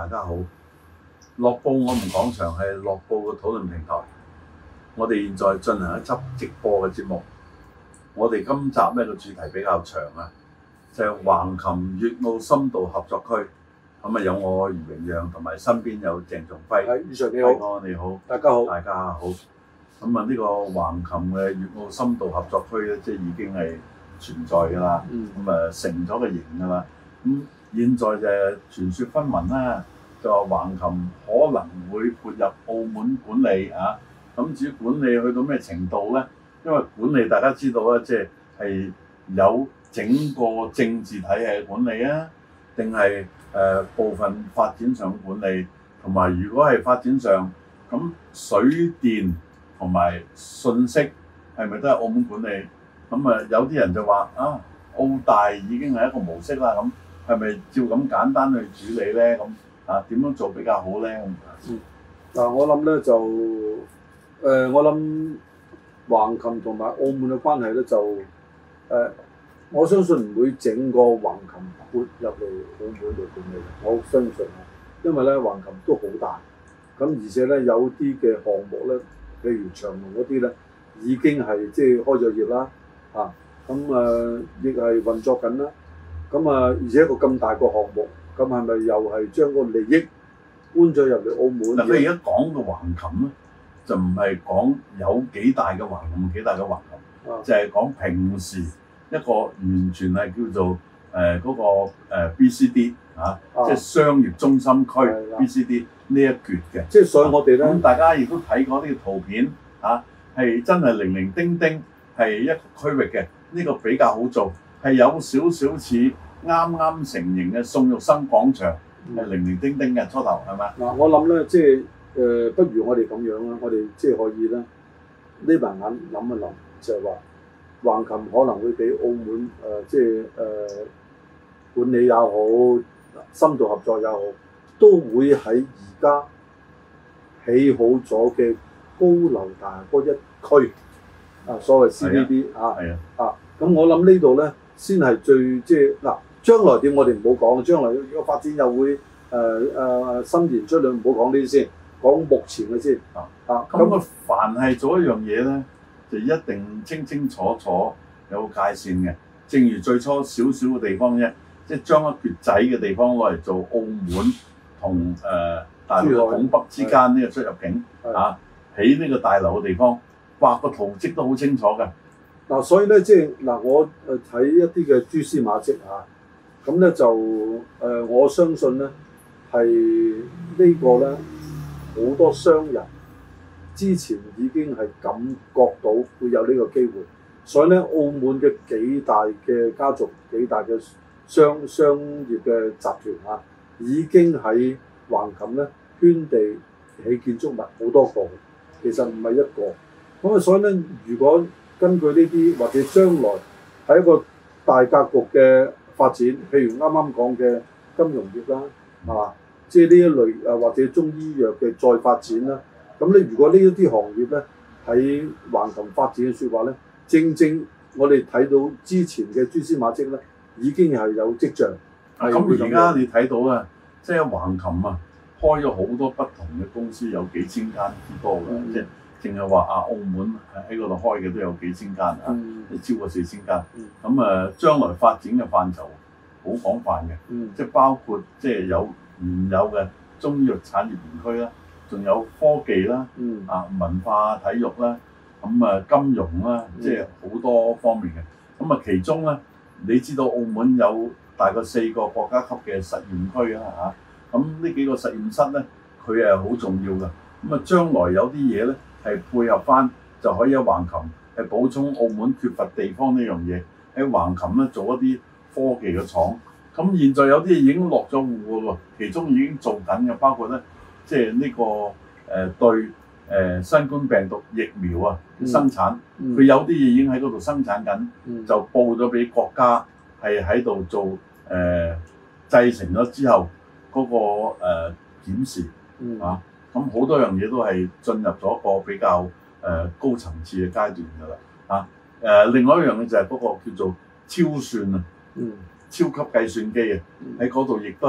家好，樂報我們講場係樂報嘅討論平台。我哋現在進行一輯直播嘅節目。我哋今集呢個主題比較長啊，就係橫琴粵澳深度合作區。咁啊有我余榮陽同埋身邊有鄭仲輝。 係，余 Sir 你好， 你好， 大家好， 大家好。咁啊呢個橫琴嘅粵澳深度合作區咧，即係已經係存在㗎啦。咁啊成咗個型㗎啦。咁現在就傳說紛紜啦，就話橫琴可能會撥入澳門管理啊。咁至於管理去到咩程度咧？因為管理大家知道啦，即係有整個政治體系管理啊，定係部分發展上管理，同埋如果係發展上咁水電同埋信息係咪都係澳門管理？咁啊有啲人就話啊，澳大已經係一個模式啦，咁係咪照咁簡單去處理咧？咁啊點樣做比較好咧？ 嗱我諗咧就我諗橫琴同埋澳門嘅關係咧就我相信唔會整個橫琴撥入嚟澳門度管理，我相信啊，因為咧橫琴都好大，咁而且咧有啲嘅項目咧，譬如長隆嗰啲咧已經係即係開咗業啦，咁亦係運作緊啦，咁而且一個咁大個項目，咁係咪又係將個利益搬咗入嚟澳門？ 嗱，你而家講嘅橫琴咧，就唔係講有幾大嘅橫琴，幾大嘅橫琴，就係講平時一個完全係叫做嗰個BCD 即係商業中心區 BCD 呢一橛嘅。 即係所以我哋咧， 咁大家亦都睇過呢個圖片係真係零零丁丁係一個區域嘅。呢個比較好做，係有少少似啱啱成型嘅宋玉生廣場，係零零丁丁嘅初頭係咪？ 嗱，我諗咧，即係不如我哋咁樣啦，我哋即係可以咧，呢排眼諗一諗，就係話橫琴可能會俾澳門即係管理也好，深度合作也好，都會喺而家起好咗嘅高樓大廈嗰一區。所謂 CBD 咁我諗呢度咧先係最即係嗱，將來點我哋唔好講，將來個發展又會伸延出去，唔好講呢啲先，講目前嘅先。 咁凡係做一樣嘢咧，就一定清清楚楚有個界線嘅。正如最初少少嘅地方啫，即係將一橛仔嘅地方攞嚟做澳門同大陸拱北之間呢個出入境起呢個大樓嘅地方。畫個圖則都好清楚嘅。 嗱，所以咧即係嗱，我睇一啲嘅蛛絲馬跡咁咧就我相信咧係呢個咧好多商人之前已經係感覺到會有呢個機會，所以咧澳門嘅幾大嘅家族、幾大嘅商業嘅集團已經喺橫琴咧圈地起建築物好多個，其實唔係一個。咁所以咧，如果根據呢啲或者將來喺一個大格局嘅發展，譬如啱啱講嘅金融業啦，即係呢一類或者中醫藥嘅再發展啦，咁咧如果呢一啲行業咧喺橫琴發展嘅説話咧，正正我哋睇到之前嘅蛛絲馬跡咧，已經係有跡象。 咁而家你睇到啊，即係橫琴開咗好多不同嘅公司，有幾千間之多嘅，即係。淨係話澳門喺嗰度開嘅都有幾千間超過4000間。咁將來發展嘅範疇好廣泛嘅，即係包括即係有原有嘅中醫藥產業園區啦，仲有科技啦，文化體育啦，金融啦，即係好多方面嘅。咁其中咧，你知道澳門有大概4個國家級嘅實驗區啦，咁呢幾個實驗室咧，佢係好重要嘅。將來有啲嘢咧，係配合翻就可以喺橫琴係補充澳門缺乏地方呢樣嘢，喺橫琴咧做一啲科技嘅廠。咁現在有啲已經落咗戶嘅喎，其中已經做緊嘅，包括咧即係呢個對新冠病毒疫苗生產，佢有啲嘢已經喺嗰度生產緊，就報咗俾國家係喺度做製成咗之後嗰個檢視咁好多樣嘢都係進入咗一個比較高層次嘅階段㗎啦另外一樣嘢就係嗰個叫做超算超級計算機喺嗰度亦都係有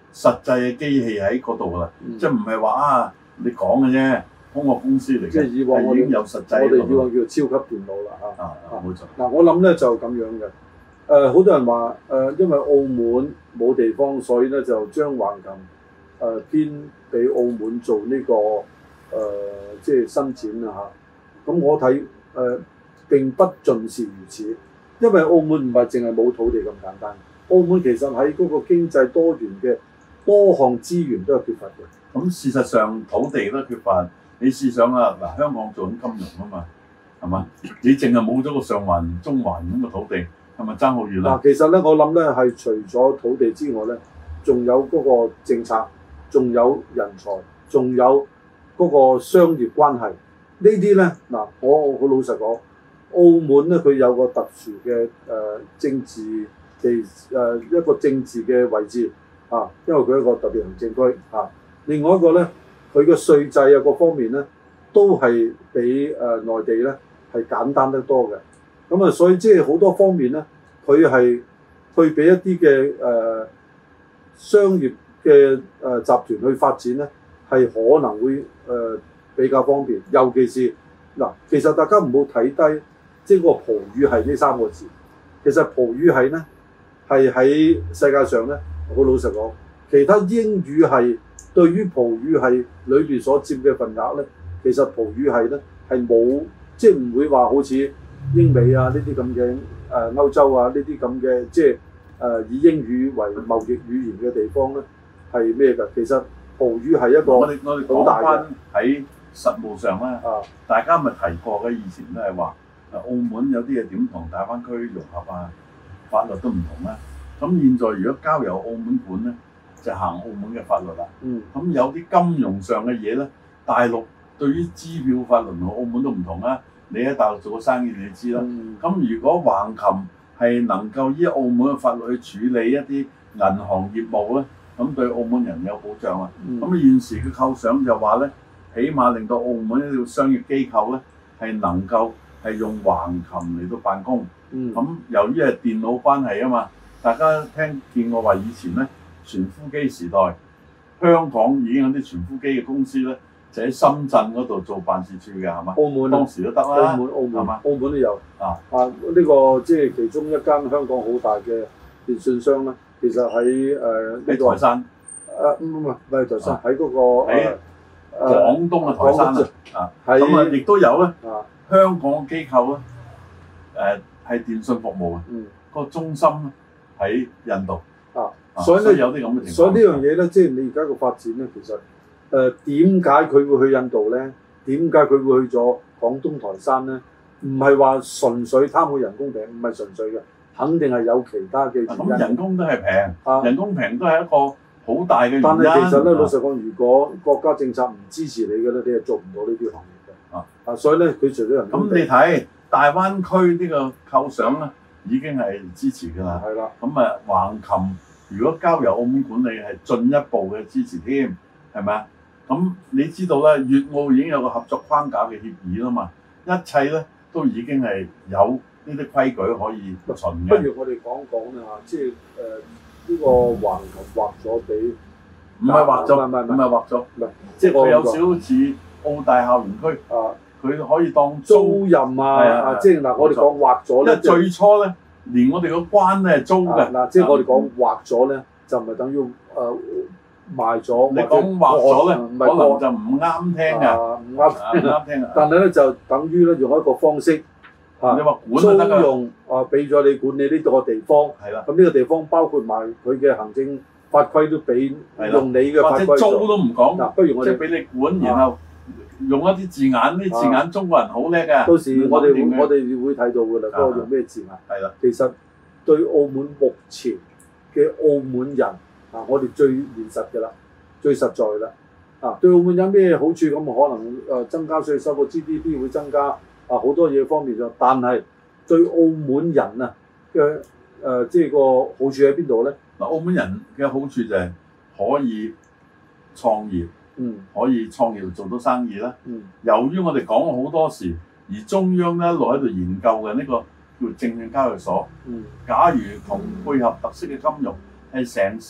實際嘅機器喺嗰度啦，即係唔係話啊你講嘅啫，空殼公司嚟嘅， 即係以往已經有實際。 我哋以往叫做超級電腦啦冇錯。 嗱，我諗咧就咁樣嘅。好多人話因為澳門冇地方，所以咧就將橫琴編俾澳門做呢即係伸展啊嚇。咁我睇並不盡是如此，因為澳門唔係淨係冇土地咁簡單。澳門其實喺嗰個經濟多元嘅多項資源都係缺乏嘅。 咁事實上土地都缺乏，你試想啊，嗱香港做緊金融啊嘛，係嘛？你淨係冇咗個上環、中環咁嘅土地，係咪爭好遠啦？ 嗱，其實咧我諗咧係除咗土地之外咧，仲有嗰個政策，仲有人才，仲有嗰個商業關係。呢啲咧嗱，我好老實講，澳門咧佢有個特殊嘅政治一個政治嘅位置啊，因為佢一個特別行政區啊。另外一個咧，佢嘅稅制啊各方面咧，都係比內地咧係簡單得多嘅。咁啊，所以即係好多方面咧，佢係去俾一啲嘅商業嘅集團去發展咧，係可能會比較方便。尤其是嗱，其實大家唔好睇低即係個葡語系呢3個字。其實葡語系咧係喺世界上咧，好老實講，其他英語系對於葡語系裏邊所佔嘅份額咧，其實葡語系咧係冇，即係唔會話好似英美啊呢啲咁嘅歐洲啊呢啲咁嘅，即係以英語為貿易語言嘅地方咧係咩㗎？其實葡語係一個我哋講翻喺實務上咧，大家咪提過嘅，以前都係話澳門有啲嘢點同大灣區融合啊，法律都唔同啦。咁現在如果交由澳門管咧，就行澳門嘅法律啦。咁有啲金融上嘅嘢咧，大陸對於支票法律同澳門都唔同啦。你喺大陸做過生意，你知啦。咁如果橫琴係能夠依澳門嘅法律去處理一啲銀行業務咧，咁對澳門人有保障啊。咁現時嘅構想就話咧，起碼令到澳門一啲商業機構咧係能夠係用橫琴嚟到辦公。咁由於係電腦關係啊嘛，大家聽見我話以前咧傳呼機時代，香港已經有啲傳呼機嘅公司咧，就喺深圳嗰度做辦事處嘅係嘛？澳門當時都得啦，係嘛？澳門都有呢個即係其中一間香港好大嘅電信商啦。其實喺喺台山，唔係台山，喺嗰個喺廣東嘅台山啊。咁啊，亦都有咧香港機構咧，係電信服務嘅，個中心喺印度。所以咧有啲咁嘅情況。所以呢樣嘢咧，即係你而家個發展咧，其實點解佢會去印度咧？點解佢會去咗廣東台山咧？唔係話純粹貪佢人工平，唔係純粹嘅，肯定係有其他嘅原因。咁人工都係平，人工平都係一個好大嘅原因。但係其實咧，老實講，如果國家政策唔支持你嘅咧，你係做唔到呢啲行業嘅。所以咧，佢除咗人工，咁你睇大灣區呢個構想咧，已經係支持㗎啦。係啦。咁啊，橫琴如果交由澳門管理，係進一步嘅支持添，係咪啊？咁你知道咧，粵澳已經有個合作框架嘅協議啦嘛，一切咧都已經係有呢啲規矩可以循嘅。不如我哋講講啦，即係呢個橫琴劃咗俾，唔係劃咗，唔係劃咗，即係佢有少少似澳大校園區，佢可以當租賃啊，即係嗱，我哋講劃咗咧，因為最初咧，連我哋個關咧係租嘅，嗱，即係我哋講劃咗咧，就唔係等於賣咗。你講劃咗咧，可能就唔啱聽㗎，唔啱聽啊！但係咧就等於咧用一個方式，你話管租用俾咗你管理呢個地方，係啦。咁呢個地方包括埋佢嘅行政法規都俾用你嘅法規，或者租都唔講。嗱，不如我哋即係俾你管，然後用一啲字眼，呢字眼中國人好叻㗎。到時我哋會睇到㗎啦，嗰個用咩字眼？係啦，其實對澳門目前嘅澳門人。我哋最現實嘅啦，最實在啦。對澳門有咩好處？咁可能增加稅收，個 GDP 會增加好多嘢方面咗。但係對澳門人嘅即係個好處喺邊度咧？嗱，澳門人嘅好處就係可以創業，可以創業做到生意啦。由於我哋講咗好多時，而中央咧一路喺度研究嘅呢個叫證券交易所。假如同配合特色嘅金融，係成事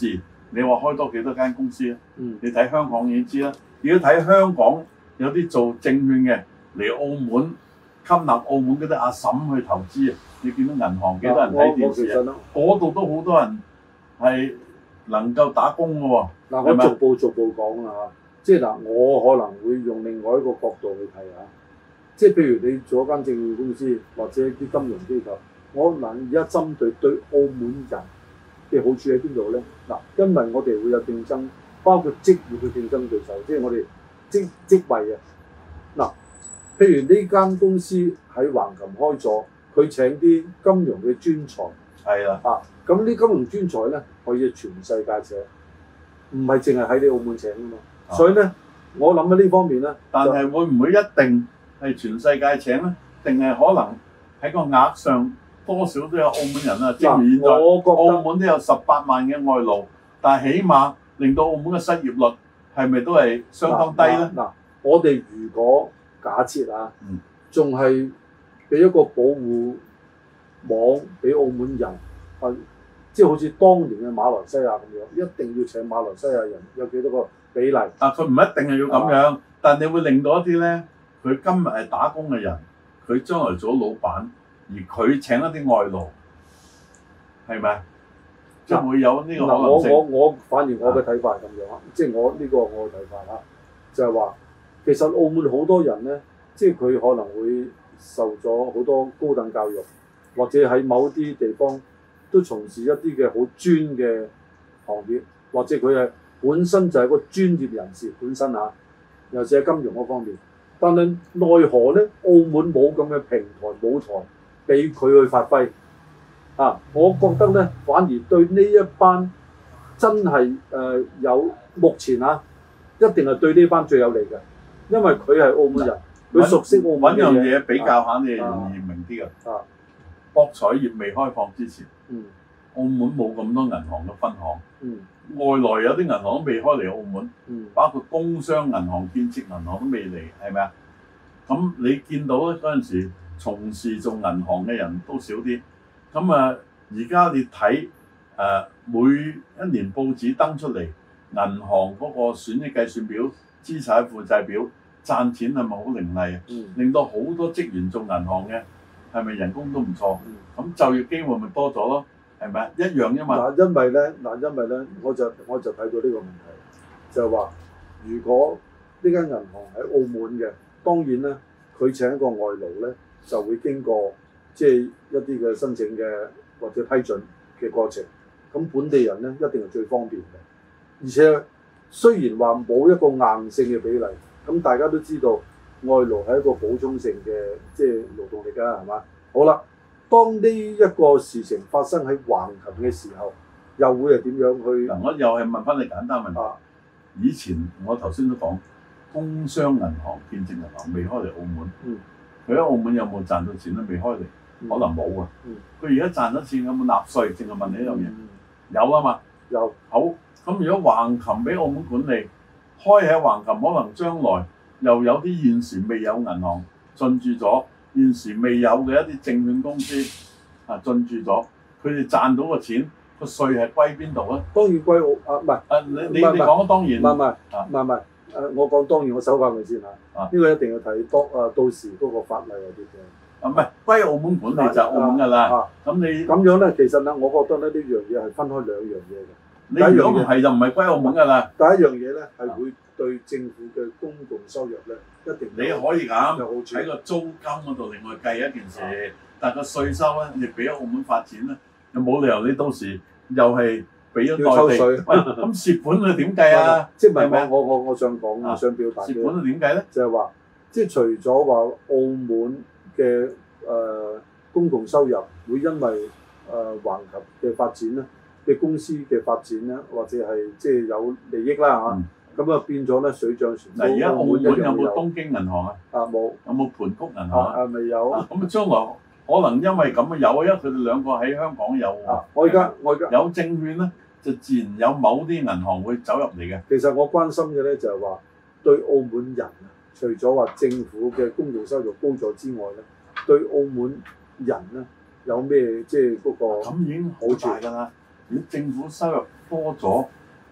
你話開多幾多間公司啊？ 嗯， 你睇香港已經知啦。如果睇香港有啲做證券嘅嚟澳門吸納澳門嗰啲阿嬸去投資啊，你見到銀行幾多人睇電視啊？嗰度都好多人係能夠打工嘅喎。 嗱，我逐步講啦嚇，即係嗱，我可能會用另外一個角度去睇下，即係譬如你做一間證券公司或者啲金融機構，我嗱而家針對澳門人嘅好處喺邊度咧？嗱，因為我哋會有競爭，包括職業嘅競爭對手，即係我哋職位啊。嗱，譬如呢間公司喺橫琴開咗，佢請啲金融嘅專才， 係啦， 咁啲金融專才咧可以全世界請，唔係淨係喺你澳門請㗎嘛。所以咧，我諗喺呢方面咧， 但係會唔會一定係全世界請咧？定係可能喺個額上多少都有澳門人啊？正如現在澳門都有18萬嘅外勞，但係起碼令到澳門嘅失業率係咪都係相當低咧？ 嗱，我哋如果假設啊，仲係俾一個保護網俾澳門人，即係好似當年嘅馬來西亞咁樣，一定要請馬來西亞人，有幾多個比例？ 佢唔一定係要咁樣，但你會令到一啲咧，佢今日係打工嘅人，佢將來做老闆，而佢請一啲外勞，係咪？即係會有呢個可能性。 我反而我嘅睇法係咁樣，即係我呢個我嘅睇法啦，就係話其實澳門好多人咧，即係佢可能會受咗好多高等教育，或者喺某啲地方都從事一啲嘅好專嘅行業，或者佢係本身就係個專業人士本身嚇，尤其係金融嗰方面。但係奈何咧，澳門冇咁嘅平台舞台俾佢去發揮。我覺得咧，反而對呢一班真係有目前一定係對呢班最有利嘅，因為佢係澳門人，佢熟悉澳門嘅嘢。 揾樣嘢比較下，你係容易明啲嘅。博彩業未開放之前，澳門冇咁多銀行嘅分行，外來有啲銀行都未開嚟澳門，包括工商銀行、建設銀行都未嚟，係咪啊？咁你見到咧嗰陣時，從事做銀行嘅人都少啲。咁而家你睇每一年報紙登出嚟，銀行嗰個損益計算表、資產負債表賺錢係咪好凌厲啊？令到好多職員做銀行嘅係咪人工都唔錯？咁就業機會咪多咗咯？係咪一樣啫嘛？ 因為咧，我就睇到呢個問題，就係話如果呢間銀行喺澳門嘅，當然咧佢請一個外勞咧就會經過即係一啲嘅申請嘅或者批准嘅過程，咁本地人咧一定係最方便嘅。而且雖然話冇一個硬性嘅比例，咁大家都知道外勞係一個補充性嘅即係勞動力㗎，係嘛？好啦，當呢一個事情發生喺橫琴嘅時候，又會係點樣去？ 我又係問翻你簡單問題。以前我頭先都講，工商銀行、建設銀行未開嚟澳門，佢喺澳門有冇賺到錢咧？未開嚟。可能冇啊！佢而家賺咗錢有冇納稅？淨係問你一樣嘢。有啊嘛。有。好，咁如果橫琴俾澳門管理，開喺橫琴，可能將來又有啲現時未有銀行進駐咗，現時未有嘅一啲證券公司進駐咗，佢哋賺到嘅錢個稅係歸邊度啊？當然歸澳唔係。你講當然。唔係。我講當然，我手法佢先嚇。呢個一定要睇到時嗰個法例有啲嘅。唔係歸澳門管理就澳門㗎啦。咁你咁樣咧，其實咧，我覺得咧呢樣嘢係分開兩樣嘢嘅。你如果唔係就唔係歸澳門㗎啦。第一樣嘢咧係會對政府嘅公共收入咧一定你可以咁喺個租金嗰度另外計一件事，但係個稅收咧你俾咗澳門發展咧，又冇理由你到時又係俾咗內地。喂，咁蝕本佢點計啊？即係咪我想講，我想表達嘅蝕本佢點計咧？就係話，即係除咗話澳門嘅公共收入會因為橫琴嘅發展咧嘅公司嘅發展咧，或者係即係有利益啦嚇，咁變咗咧水漲船高。嗱，而家澳門有冇東京銀行啊？冇。有冇盤谷銀行啊？未有。咁將來可能因為咁有啊，因為佢哋兩個喺香港有。我而家有證券咧，就自然有某啲銀行會走入嚟嘅。其實我關心嘅咧就係話對澳門人除咗話政府嘅公共收入高咗之外咧，對澳門人咧有咩即係嗰個咁已經好大㗎啦。如果政府收入多咗，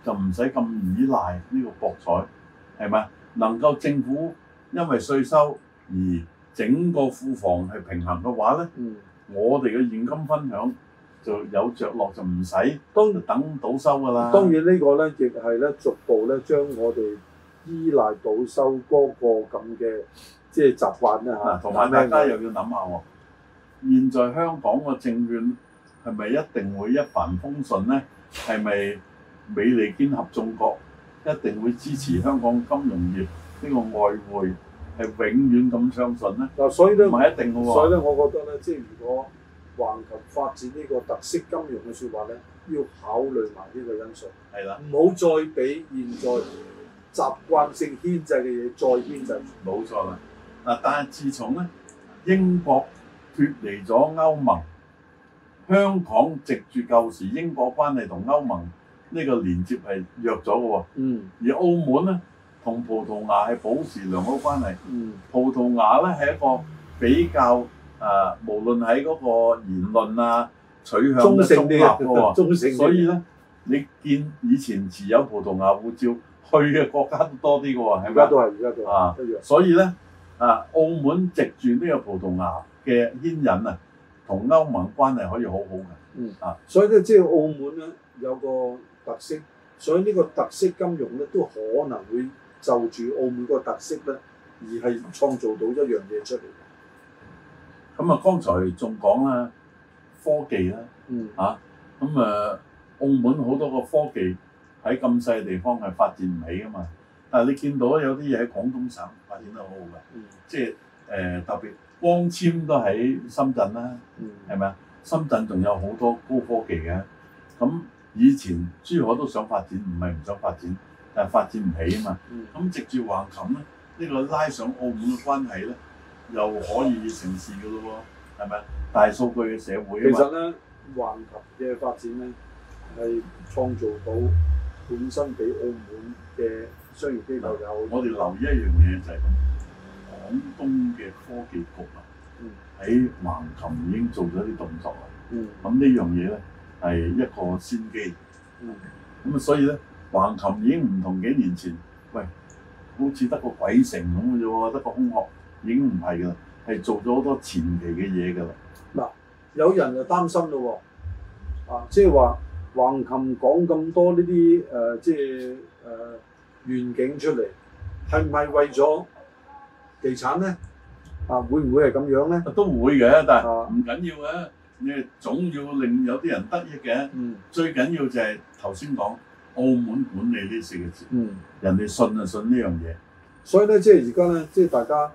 就唔使咁依賴呢個博彩，係咪？能夠政府因為稅收而整個庫房係平衡嘅話咧，我哋嘅現金分享就有着落，就唔使等賭收㗎啦。 當然呢個咧亦係咧逐步咧將我哋依賴賭收嗰個咁嘅即係習慣咧嚇。 同埋大家又要諗下喎，現在香港個證券係咪一定會一帆風順咧？係咪美利堅合眾國一定會支持香港金融業呢個外匯係永遠咁暢順咧？ 嗱，所以咧唔係一定嘅喎。 所以咧，我覺得咧，即係如果橫琴發展呢個特色金融嘅説話咧，要考慮埋呢個因素。 係啦， 唔好再俾現在習慣性牽制嘅嘢再牽制。 冇錯啦。嗱，但係自從咧英國脫離咗歐盟，香港藉住舊時英國關係同歐盟呢個連接係弱咗嘅喎。而澳門咧同葡萄牙係保持良好關係。葡萄牙咧係一個比較無論喺嗰個言論啊取向都中立嘅喎。中性。所以咧，你見以前持有葡萄牙護照去嘅國家都多啲嘅喎，係咪？ 而家都係一樣。 所以咧澳門藉住呢個葡萄牙嘅牽引啊，同歐盟關係可以好好嘅。 所以咧，即係澳門咧有個特色，所以呢個特色金融咧都可能會就住澳門嗰個特色咧，而係創造到一樣嘢出嚟。 咁啊，剛才仲講啦，科技啦，澳門好多個科技喺咁細嘅地方係發展唔起噶嘛。但係你見到有啲嘢喺廣東省發展得好好嘅，即係特別光纖都喺深圳啦，係咪啊？深圳仲有好多高科技嘅。咁以前珠海都想發展，唔係唔想發展，但係發展唔起啊嘛。咁藉住橫琴咧，呢個拉上澳門嘅關係咧，又可以成事嘅咯喎，係咪啊？大數據嘅社會啊嘛。 其實咧，橫琴嘅發展咧係創造到本身俾澳門嘅商業機構有。 我哋留意一樣嘢就係咁，廣東嘅科技局喺橫琴已經做咗啲動作啦。咁呢樣嘢咧係一個先機。咁所以咧，橫琴已經唔同幾年前，喂，好似得個鬼城咁嘅啫喎，得個空殼，已經唔係㗎啦，係做咗好多前期嘅嘢㗎啦。 嗱，有人就擔心咯喎，即係話橫琴講咁多呢啲即係願景出嚟，係唔係為咗地產咧？會唔會係咁樣咧？ 都會嘅，但係唔緊要嘅，你總要令有啲人得益嘅。最緊要就係頭先講澳門管理呢四個字，人哋信就信呢樣嘢。 所以咧，即係而家咧，即係大家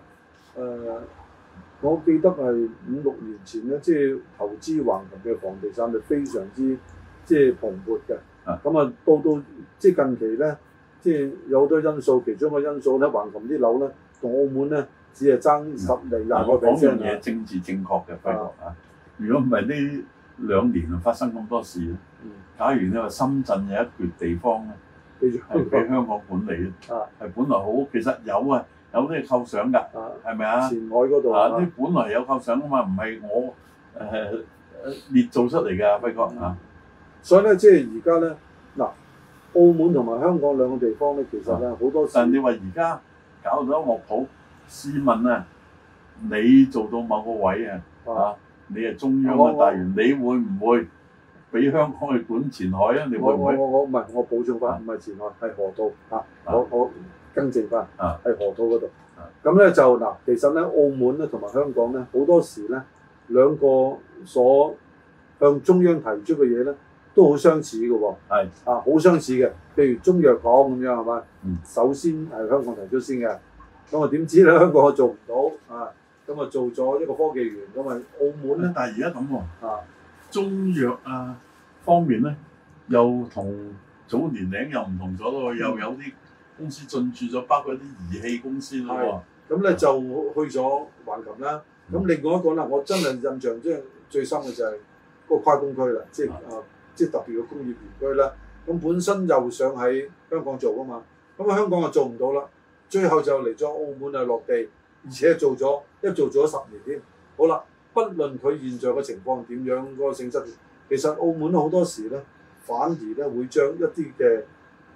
我記得係5、6年前咧，即係投資橫琴嘅房地產係非常之即係蓬勃嘅。咁到即係近期咧，即係有好多因素，其中一個因素咧，橫琴啲樓咧同澳門咧只係爭10厘20%。 我講樣嘢政治正確嘅輝哥如果唔係呢2年發生咁多事咧，假如你話深圳有一橛地方咧，係俾香港管理係本來好，其實有啲構想㗎，係咪啊？ 前海嗰度啲本來有構想㗎嘛，唔係我捏造出嚟㗎，輝哥所以咧，即係而家咧，嗱，澳門同埋香港兩個地方咧，其實咧好多時。 但你話而家搞咗樂譜，試問啊，你做到某個位你係中央嘅大員，你會唔會俾香港去管前海啊？你會唔會？ 我唔係，我補充翻，唔係前海，係河套我更正翻，係河套嗰度。咁咧就嗱，其實咧澳門咧同埋香港咧好多時咧兩個所向中央提出嘅嘢咧都好相似嘅喎。好相似嘅。譬如中藥港咁樣係嘛？首先係香港提出先嘅，咁點知咧香港做唔到咁做咗一個科技園，咁澳門咧， 但係而家咁喎，中藥方面咧，又同早年齡又唔同咗咯，又有啲公司進駐咗，包括啲儀器公司咯喎。 咁咧就去咗橫琴啦。咁另外一個啦，我真係印象最深嘅就係嗰個跨工區啦，即係特別嘅工業園區啦。咁本身又想喺香港做㗎嘛，咁香港就做唔到啦，最後就嚟咗澳門落地。而且做咗10年添。好啦，不論佢現在嘅情況點樣，嗰個性質，其實澳門好多時咧，反而咧會將一啲嘅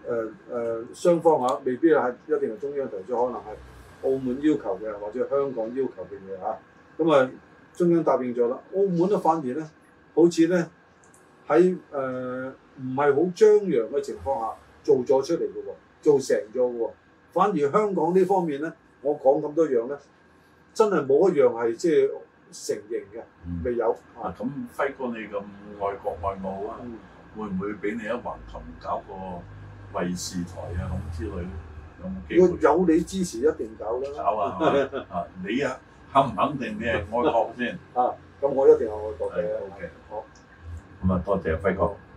雙方嚇，未必係一定係中央提出，可能係澳門要求嘅，或者香港要求嘅嘢嚇。咁啊，中央答應咗啦。澳門咧反而咧，好似咧喺唔係好張揚嘅情況下做咗出嚟嘅喎，做成咗嘅喎。反而香港呢方面咧，我講咁多樣咧，真係冇一樣係即係成型嘅，未有。 咁輝哥你咁愛國愛澳啊，會唔會俾你喺橫琴搞個衛視台啊咁之類咧？有冇機會？ 我有你支持，一定搞啦。 搞啊！你啊，肯唔肯定你係愛國先？ 咁我一定係愛國嘅。 OK， 好。 咁啊，多謝輝哥。